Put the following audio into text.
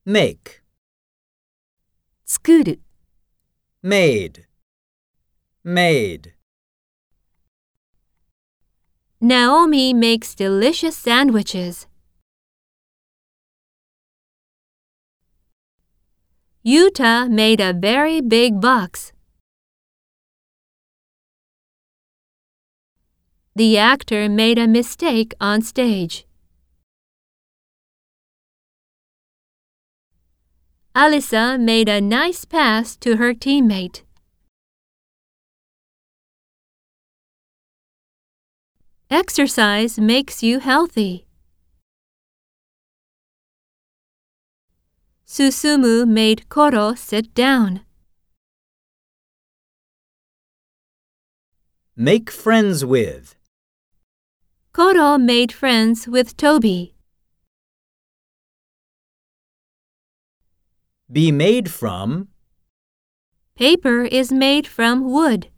make, 作る、 made, made. Naomi makes delicious sandwiches. Yuta made a very big box. The actor made a mistake on stage. Alyssa made a nice pass to her teammate. Exercise makes you healthy. Susumu made Koro sit down. Make friends with, Koro made friends with Toby. be made from, Paper is made from wood.